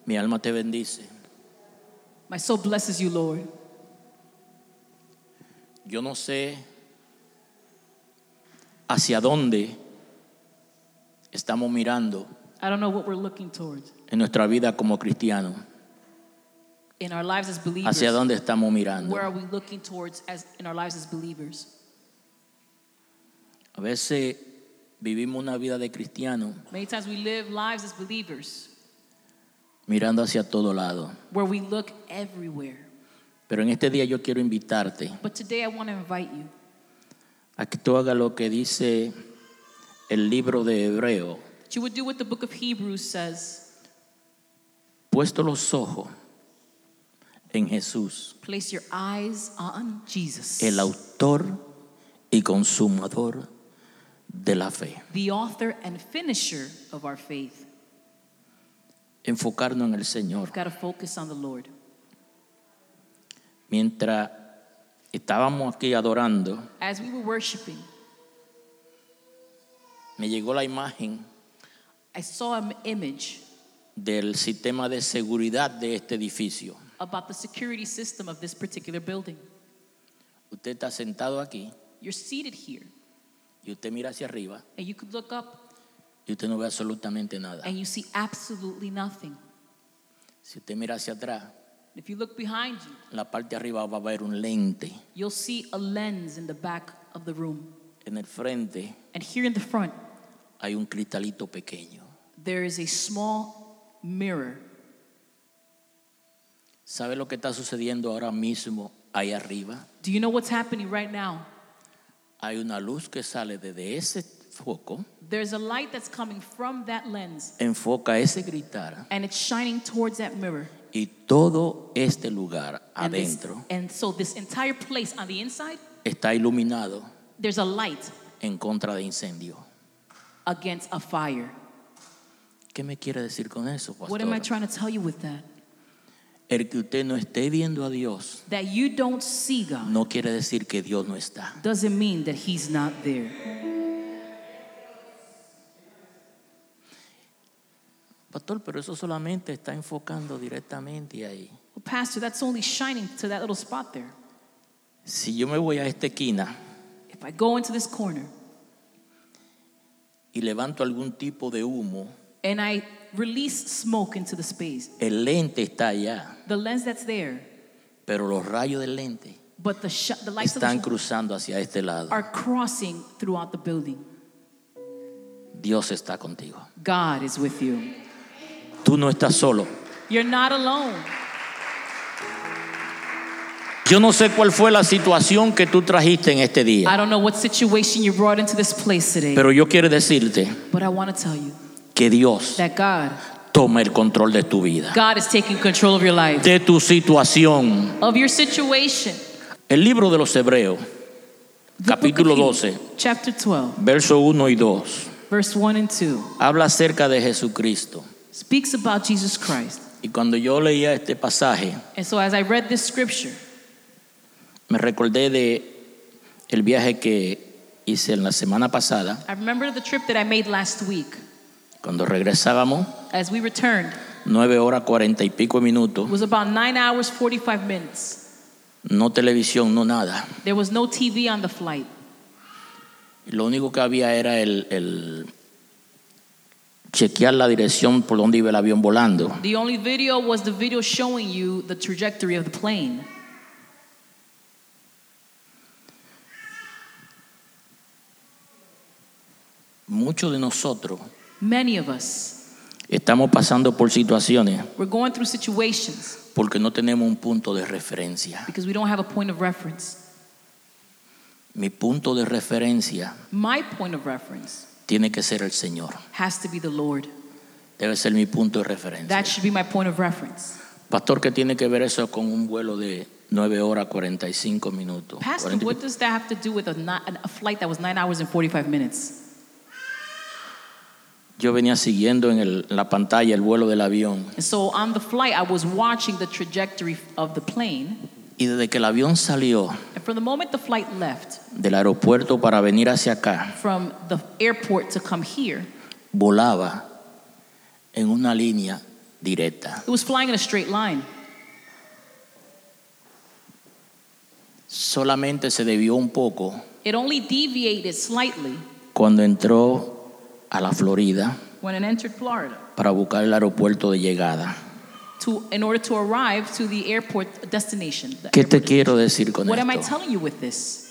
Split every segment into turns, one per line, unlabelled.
Mi alma te bendice.
My soul blesses you, Lord.
Yo no sé hacia dónde estamos mirando
I don't know what we're looking towards
en nuestra vida como cristianos.
in our lives as believers.
Hacia dónde estamos mirando.
Where are we looking towards as in our lives as believers?
A veces vivimos una vida de cristiano
Many times we live lives as believers
mirando hacia todo lado.
where we look everywhere.
Pero en este día yo quiero invitarte
But today I want to invite you
a que tú hagas lo que dice el libro de Hebreo.
that you would do what the book of Hebrews says.
Puesto los ojos en Jesús,
Place your eyes on Jesus,
el autor y consumador de la fe.
the author and finisher of our faith.
Enfocarnos en el Señor.
We've got to focus on the Lord.
Mientras estábamos aquí adorando,
As we were worshiping,
me llegó la imagen
I saw an image
del sistema de seguridad de este edificio.
about the security system of this particular building.
Usted está sentado aquí
You're seated here,
y usted mira hacia arriba
and you could look up
y usted no ve absolutamente nada.
and you see absolutely nothing.
Si usted mira hacia atrás,
If you look behind you,
en la parte de arriba va a haber un lente.
you'll see a lens in the back of the room.
En el frente
And here in the front,
hay un cristalito pequeño.
there is a small mirror.
¿Sabe lo que está sucediendo ahora mismo ahí arriba?
Do you know what's happening right now?
Hay una luz que sale desde ese foco,
There's a light that's coming from that lens,
enfoca ese cristal
and it's shining towards that mirror.
y todo este lugar adentro
And so this entire place on the inside,
está iluminado
there's a light
en contra de incendio.
against a fire.
¿Qué me quiere decir con eso,
What am I
pastor?
trying to tell you with that?
El que usted no esté viendo a Dios
That you don't see God
no quiere decir que Dios no está.
doesn't mean that He's not there.
Pastor, pero eso solamente está enfocando directamente ahí.
Well, Pastor, that's only shining to that little spot there.
Si yo me voy a esta esquina
If I go into this corner
y levanto algún tipo de humo,
and I release smoke into the space,
el lente está allá,
the lens that's there,
pero los rayos del lente
but the lights of the
están
shot
cruzando hacia este lado.
are crossing throughout the building.
Dios está contigo.
God is with you.
Tú no estás solo.
You're not alone.
Yo no sé cuál fue la situación que tú trajiste en este
I
día,
don't know what situation you brought into this place today,
pero yo quiero decirte
but I want to tell you
que Dios
that God
toma el control de tu vida,
is taking control of your life,
de tu situación.
of your situation.
El libro de los Hebreos,
The book
capítulo
of Hebrews,
12,
chapter 12,
verso 1 y 2,
verse 1 and 2,
habla acerca de Jesucristo.
speaks about Jesus Christ.
Y cuando yo leía este pasaje,
And so as I read this scripture,
me recordé de el viaje que hice en la semana pasada,
I remember the trip that I made last week.
cuando regresábamos,
As we returned,
9 horas 40 y pico de minutos,
it was about 9 hours, 45 minutes.
no televisión, no nada.
There was no TV on the flight.
Lo único que había era el chequear la dirección por donde iba el avión volando.
The only video was the video showing you the trajectory of the plane.
Muchos de nosotros
Many of us,
estamos pasando por situaciones
we're going through situations
porque no tenemos un punto de referencia.
because we don't have a point of reference.
Mi punto de referencia
My point of reference
tiene que ser el Señor.
has to be the Lord.
Debe ser mi punto de referencia.
That should be my point of reference.
Pastor, ¿qué tiene que ver eso con un vuelo de 9 horas 45 minutos?
Pastor,
40 y
what
pico.
does that have to do with a flight that was 9 hours and 45 minutes?
Yo venía siguiendo en la pantalla el vuelo del avión
And so on the flight, I was watching the trajectory of the plane.
y desde que el avión salió
And from the moment the flight left
del aeropuerto para venir hacia acá,
from the airport to come here,
volaba en una línea directa.
It was flying in a straight line.
Solamente se desvió un poco
It only deviated slightly
cuando entró a la Florida
when it entered Florida
para buscar el aeropuerto de llegada.
in order to arrive to the airport destination.
¿Qué te quiero decir con
What am I
esto?
telling you with this?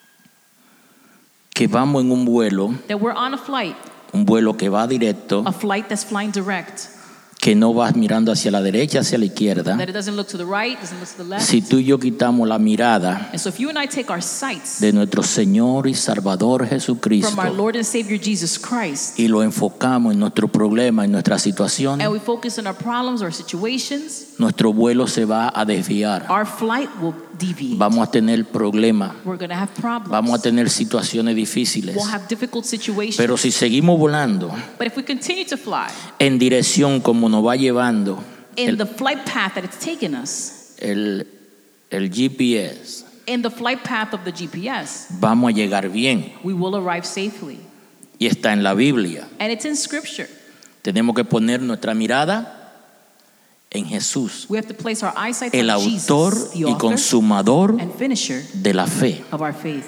Que vamos en un
That we're on
un vuelo que va directo,
a flight that's flying direct,
que no vas mirando hacia la derecha, hacia la izquierda.
that it doesn't look to the right, doesn't look to the left.
Si tú y yo quitamos la mirada
And so if you and I take our sights
de nuestro Señor y Salvador Jesucristo
from our Lord and Savior Jesus Christ,
y lo enfocamos en nuestro problema, en nuestra situación,
and we focus on our problems, our situations,
nuestro vuelo se va a desviar.
our flight will deviate.
Vamos a tener problemas,
We're going to have problems.
vamos a tener situaciones difíciles.
We'll have difficult situations.
Pero si seguimos volando
But if we continue to fly
en dirección como nos va llevando
in the flight path that it's taken us,
el GPS,
in the flight path of the GPS,
vamos a llegar bien.
we will arrive safely.
Y está en la Biblia.
And it's in Scripture.
Tenemos que poner nuestra mirada en Jesús,
We have to place our eyesight
el
on
autor
Jesus, the
y
author
consumador
and finisher
de la fe.
of our faith.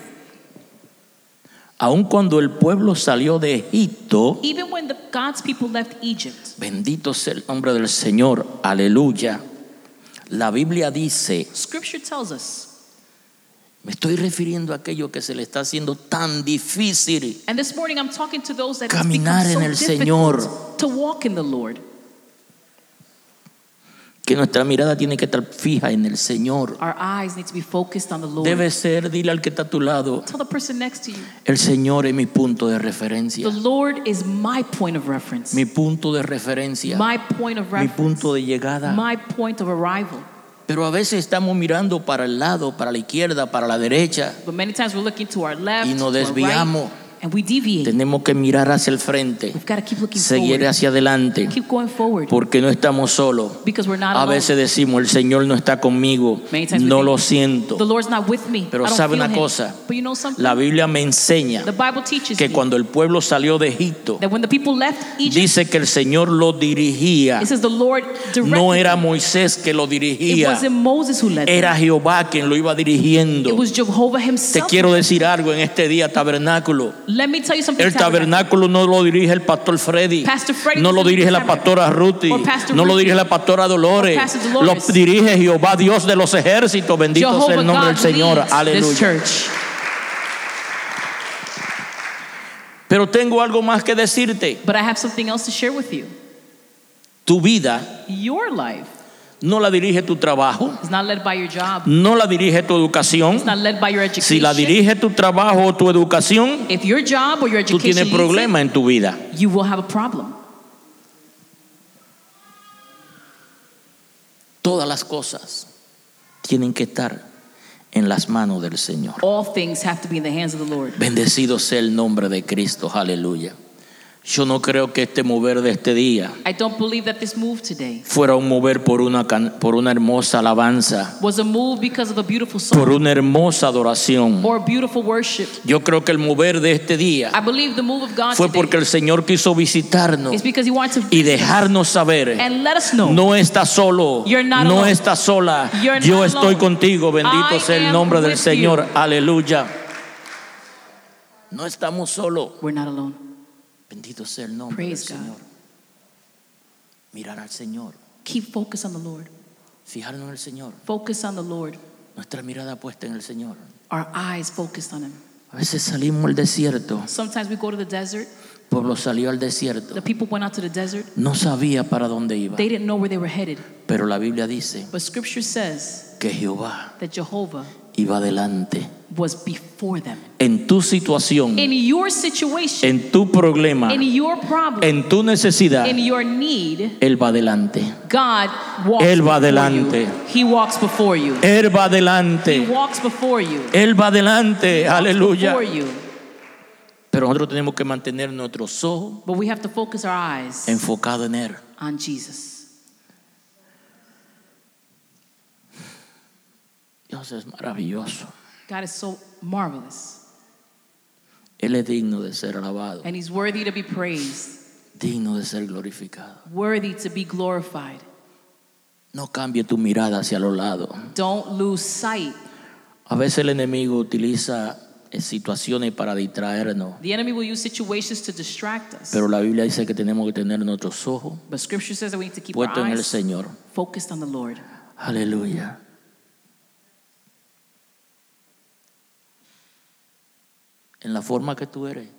Aun cuando el pueblo salió de Egipto,
Even when God's people left Egypt,
bendito sea el nombre del Señor, aleluya. La Biblia dice,
Scripture tells us,
me estoy refiriendo a aquello que se le está haciendo tan difícil,
and this morning I'm talking to those that it's
caminar
become
en
so
el
difficult
Señor,
to walk in the Lord.
que nuestra mirada tiene que estar fija en el Señor.
Our eyes need to be focused on the Lord.
Debe ser, dile al que está a tu lado,
Tell the person next to you,
el Señor es mi punto de referencia,
the Lord is my point of reference,
mi punto de referencia,
my point of
mi
reference,
punto de llegada.
my point of arrival.
Pero a veces estamos mirando para el lado, para la izquierda, para la derecha,
But many times we're looking to our left,
y nos
to our
desviamos.
right, and we deviate.
Tenemos que mirar hacia el frente,
We've got to keep looking
seguir
forward.
hacia adelante,
Keep going forward.
porque no estamos solos.
Because we're not
A
alone.
veces decimos, el Señor no está conmigo,
Many times we
no
think,
lo siento.
The Lord's not with me.
Pero
I don't
sabe
feel
una
him.
cosa,
But you know something?
la Biblia me enseña
The Bible teaches
que
me
cuando el pueblo salió de Egipto,
that when the people left Egypt,
dice que el Señor lo dirigía.
it says the Lord directed
No era
them.
Moisés que lo
It
dirigía,
wasn't Moses who led them.
era Jehová quien lo iba dirigiendo.
It was Jehovah
Te
himself.
quiero decir algo en este día, tabernáculo.
Let me tell you something.
El tabernáculo no lo dirige el pastor Freddy,
Pastor Freddy
no lo
doesn't
dirige
lead
la
the
pastora Ruthie,
or Pastor
no lo
Ruthie,
dirige la pastora Dolores,
or Pastor
lo
Dolores.
dirige Jehová Dios de los ejércitos, bendito sea
Jehovah
el nombre del
God
Señor,
leads this
aleluya.
church.
Pero tengo algo más que decirte,
But I have something else to share with you.
tu vida
Your life
no la dirige tu trabajo,
is not led by your job.
no la dirige tu educación.
It's not led by your education.
Si la dirige tu trabajo o tu educación,
If your job or your
tú
education
tienes
leads
problema en tu vida.
it, you will have a problem.
Todas las cosas tienen que estar en las manos del Señor.
All things have to be in the hands of the Lord.
Bendecido sea el nombre de Cristo, aleluya. Yo no creo que este mover de este día
I don't believe that this move today
fuera un mover por una hermosa alabanza,
was a move because of a beautiful
por
song
una hermosa adoración.
or beautiful worship.
Yo creo que el mover de este día
I believe the move of God
fue
today
porque el Señor quiso visitarnos
is because He wants to
y dejarnos saber,
and let us know
no estás solo,
You're not
no
alone.
estás sola,
You're not
yo estoy
alone.
contigo, bendito
I
sea el
am
nombre del
with
Señor,
you.
aleluya. No estamos solos,
we're not alone.
bendito sea el nombre
Praise
del
God.
Señor. Mirar al Señor,
Keep focus on the Lord.
fijarnos en el Señor,
Focus on the Lord.
nuestra mirada puesta en el Señor.
Our eyes focused on Him.
A veces salimos al desierto,
Sometimes we go to the desert.
el pueblo salió al desierto,
The people went out to the desert.
no sabía para dónde iba,
They didn't know where they were headed.
pero la Biblia dice
But Scripture says
que Jehová
that Jehovah
iba adelante.
was before them.
En tu situación,
In your situation,
en tu problema,
in your problem,
en tu necesidad,
in your need,
Él va adelante.
God walks
Él va
before
adelante.
you. He walks before you.
Él va
He
adelante.
walks before you.
Él va adelante.
Walks
Aleluya.
before you.
Pero nosotros tenemos que mantener nuestros ojos
But we have to focus our eyes
enfocados en Él.
on Jesus.
Dios es maravilloso.
God is so marvelous.
Él es digno de ser alabado.
And He's worthy to be praised.
digno de ser glorificado.
worthy to be glorified.
No cambie tu mirada hacia los lados.
Don't lose sight.
A veces el enemigo utiliza situaciones para distraernos,
The enemy will use situations to distract us.
pero la Biblia dice que tenemos que tener nuestros ojos
But scripture says that we need to keep our
puestos en el
eyes
Señor.
focused on the Lord.
Aleluya. En la forma que tú eres,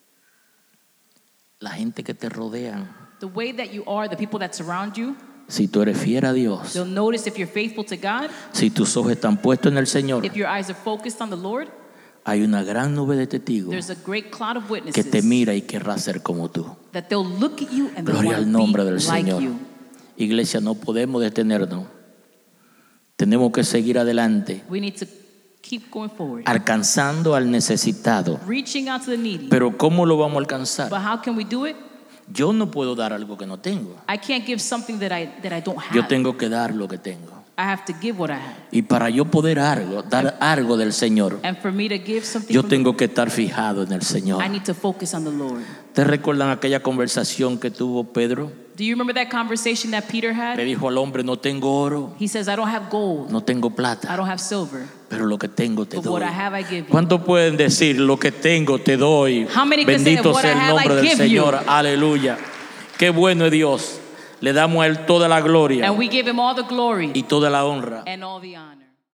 la gente que te rodean,
The way that you are, the people that surround you,
si tú eres fiel a Dios,
they'll notice if you're faithful to God,
si tus ojos están puestos en el Señor,
if your eyes are focused on the Lord.
hay una gran nube de testigos
There's a great cloud of
que
witnesses
te mira y querrá ser como tú.
that they'll look at you and they'll
Gloria
want
al nombre
to
del
be like
Señor.
you.
Iglesia, no podemos detenernos. Tenemos que seguir adelante,
We need to keep going forward,
alcanzando al necesitado.
reaching out to the needy.
Pero ¿cómo lo vamos a alcanzar?
But how can we do it?
Yo no puedo dar algo que no tengo.
I can't give something that I don't
Yo
have.
tengo que dar lo que tengo.
I have to give what I have.
Y para yo poder dar algo del Señor,
And for me to give something
yo
from
tengo que estar fijado en el Señor.
I need to focus on the Lord.
¿Te recuerdan aquella conversación que tuvo Pedro?
Do you remember that conversation that Peter
Le
had?
dijo al hombre, no tengo oro,
He says, I don't have gold,
no tengo
I
plata,
don't have silver,
pero lo que tengo te
but what
doy.
I have I give you.
¿Cuántos pueden decir, lo que tengo te doy?
How many can say,
Bendito
"What
sea
I
el
have, I
nombre del
give you"?
Señor. Aleluya. Qué bueno es Dios. Le damos a Él toda la gloria
And we give him all the glory
y toda la honra.
and all the honor.